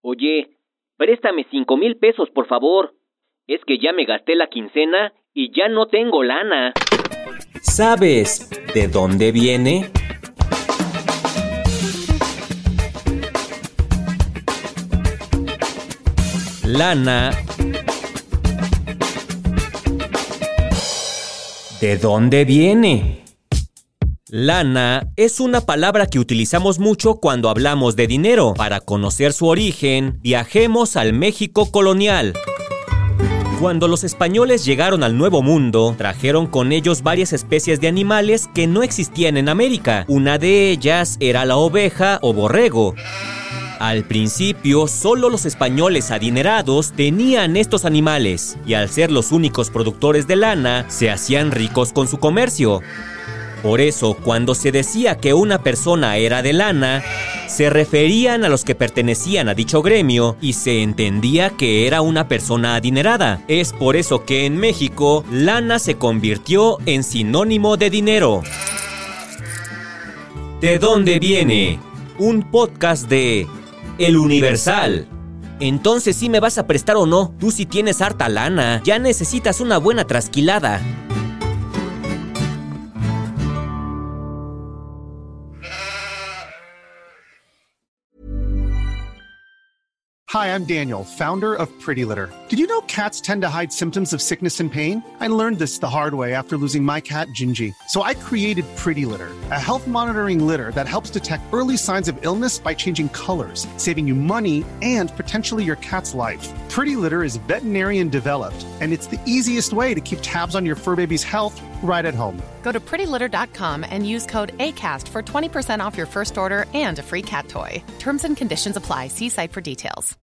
Oye, préstame 5,000 pesos, por favor. Es que ya me gasté la quincena y ya no tengo lana. ¿Sabes de dónde viene? Lana. ¿De dónde viene? Lana es una palabra que utilizamos mucho cuando hablamos de dinero. Para conocer su origen, viajemos al México colonial. Cuando los españoles llegaron al Nuevo Mundo, trajeron con ellos varias especies de animales que no existían en América. Una de ellas era la oveja o borrego. Al principio, solo los españoles adinerados tenían estos animales, y al ser los únicos productores de lana, se hacían ricos con su comercio. Por eso, cuando se decía que una persona era de lana, se referían a los que pertenecían a dicho gremio y se entendía que era una persona adinerada. Es por eso que en México, lana se convirtió en sinónimo de dinero. ¿De dónde viene? Un podcast de El Universal. Entonces, ¿sí me vas a prestar o no? Tú sí tienes harta lana. Ya necesitas una buena trasquilada. Hi, I'm Daniel, founder of Pretty Litter. Did you know cats tend to hide symptoms of sickness and pain? I learned this the hard way after losing my cat, Gingy. So I created Pretty Litter, a health monitoring litter that helps detect early signs of illness by changing colors, saving you money and potentially your cat's life. Pretty Litter is veterinarian developed, and it's the easiest way to keep tabs on your fur baby's health right at home. Go to prettylitter.com and use code ACAST for 20% off your first order and a free cat toy. Terms and conditions apply. See site for details.